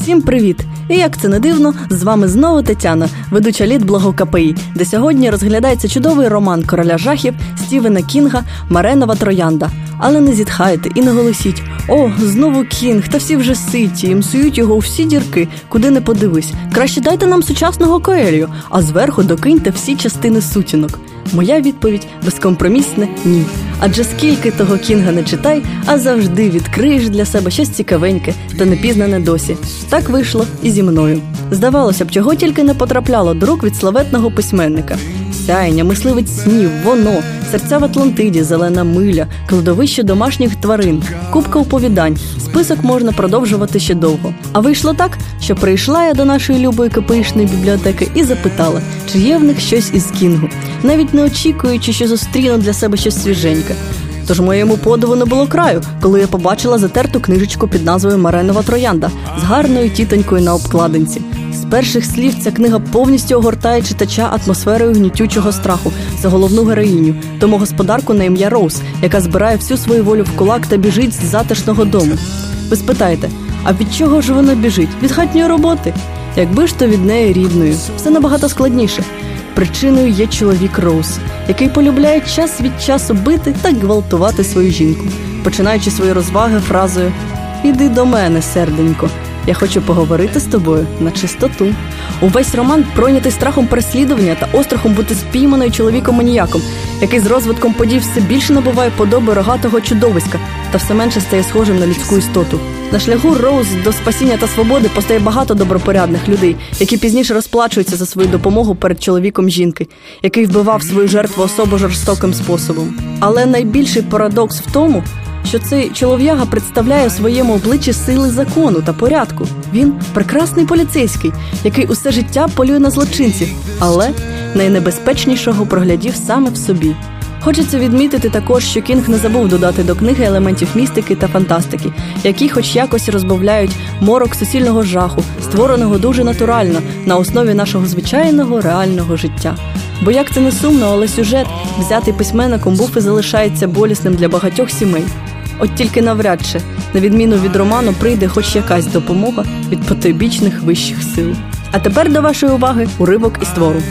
Всім привіт! І як це не дивно, з вами знову Тетяна, ведуча літблогу КПІ, де сьогодні розглядається чудовий роман короля жахів Стівена Кінга «Маренова троянда». Але не зітхайте і не голосіть: «О, знову Кінг, та всі вже ситі, і мсують його у всі дірки, куди не подивись. Краще дайте нам сучасного Коельо, а зверху докиньте всі частини сутінок». Моя відповідь безкомпромісне – ні. Адже скільки того Кінга не читай, а завжди відкриєш для себе щось цікавеньке та непізнане досі. Так вийшло і зі мною. Здавалося б, чого тільки не потрапляло до рук від славетного письменника. «Сяєння», «Мисливець снів», «Воно», «Серця в Атлантиді», «Зелена миля», «Кладовище домашніх тварин», купка оповідань. Список можна продовжувати ще довго. А вийшло так, що прийшла я до нашої любої КПІшної бібліотеки і запитала, чи є в них щось із Кінгу, навіть не очікуючи, що зустріну для себе щось свіженьке. Тож моєму подиву не було краю, коли я побачила затерту книжечку під назвою «Маренова троянда» з гарною тітонькою на обкладинці. З перших слів ця книга повністю огортає читача атмосферою гнітючого страху за головну героїню, домогосподарку на ім'я Роуз, яка збирає всю свою волю в кулак та біжить з затишного дому. Ви спитаєте, а від чого ж вона біжить? Від хатньої роботи? Якби ж то від неї рідної. Все набагато складніше. Причиною є чоловік Роуз, який полюбляє час від часу бити та гвалтувати свою жінку, починаючи свої розваги фразою «Іди до мене, серденько, я хочу поговорити з тобою на чистоту». Увесь роман пройнятий страхом переслідування та острахом бути спійманою чоловіком-маніяком, який з розвитком подій все більше набуває подоби рогатого чудовиська та все менше стає схожим на людську істоту. На шляху Роуз до спасіння та свободи постає багато добропорядних людей, які пізніше розплачуються за свою допомогу перед чоловіком жінки, який вбивав свою жертву особо жорстоким способом. Але найбільший парадокс в тому, що цей чолов'яга представляє у своєму обличчі сили закону та порядку. Він – прекрасний поліцейський, який усе життя полює на злочинців, але найнебезпечнішого проглядів саме в собі. Хочеться відмітити також, що Кінг не забув додати до книги елементів містики та фантастики, які хоч якось розбавляють морок суцільного жаху, створеного дуже натурально, на основі нашого звичайного реального життя. Бо як це не сумно, але сюжет, взятий письменником, був і залишається болісним для багатьох сімей. От тільки навряд чи, на відміну від роману, прийде хоч якась допомога від потойбічних вищих сил. А тепер до вашої уваги уривок із твору.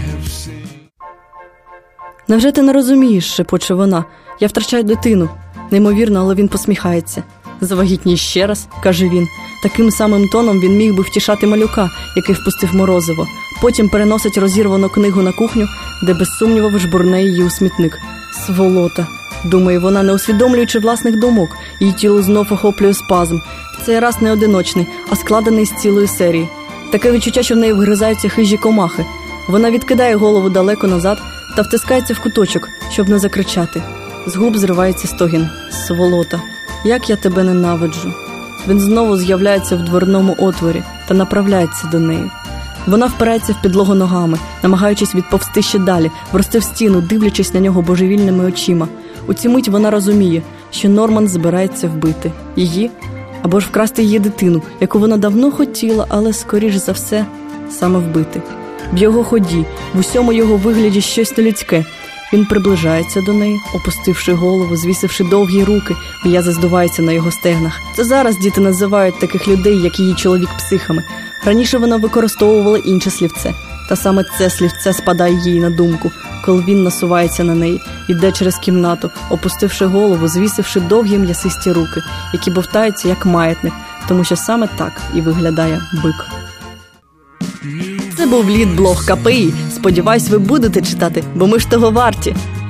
«Невже ти не розумієш?» – шепоче вона. «Я втрачаю дитину». Неймовірно, але він посміхається. «Завагітній ще раз», – каже він. Таким самим тоном він міг би втішати малюка, який впустив морозиво. Потім переносить розірвану книгу на кухню, де без сумніву жбурне її у смітник. «Сволота», – думає вона, не усвідомлюючи власних думок. Її тіло знов охоплює спазм. В цей раз не одиночний, а складений з цілої серії. Таке відчуття, що в неї вгризаються хижі комахи. Вона відкидає голову далеко назад та втискається в куточок, щоб не закричати. З губ зривається стогін. «Сволота, як я тебе ненавиджу». Він знову з'являється в дверному отворі та направляється до неї. Вона впирається в підлогу ногами, намагаючись відповсти ще далі, врости в стіну, дивлячись на нього божевільними очима. У цю мить вона розуміє, що Норман збирається вбити її або ж вкрасти її дитину, яку вона давно хотіла, але, скоріш за все, саме вбити. В його ході, в усьому його вигляді щось нелюдське. Він приближається до неї, опустивши голову, звісивши довгі руки, м'язи здуваються на його стегнах. Це зараз діти називають таких людей, як її чоловік, психами. Раніше вона використовувала інше слівце. Та саме це слівце спадає їй на думку, коли він насувається на неї, йде через кімнату, опустивши голову, звісивши довгі м'ясисті руки, які бовтаються як маятник, тому що саме так і виглядає бик. Це був літблог КПІ. Сподіваюсь, ви будете читати, бо ми ж того варті.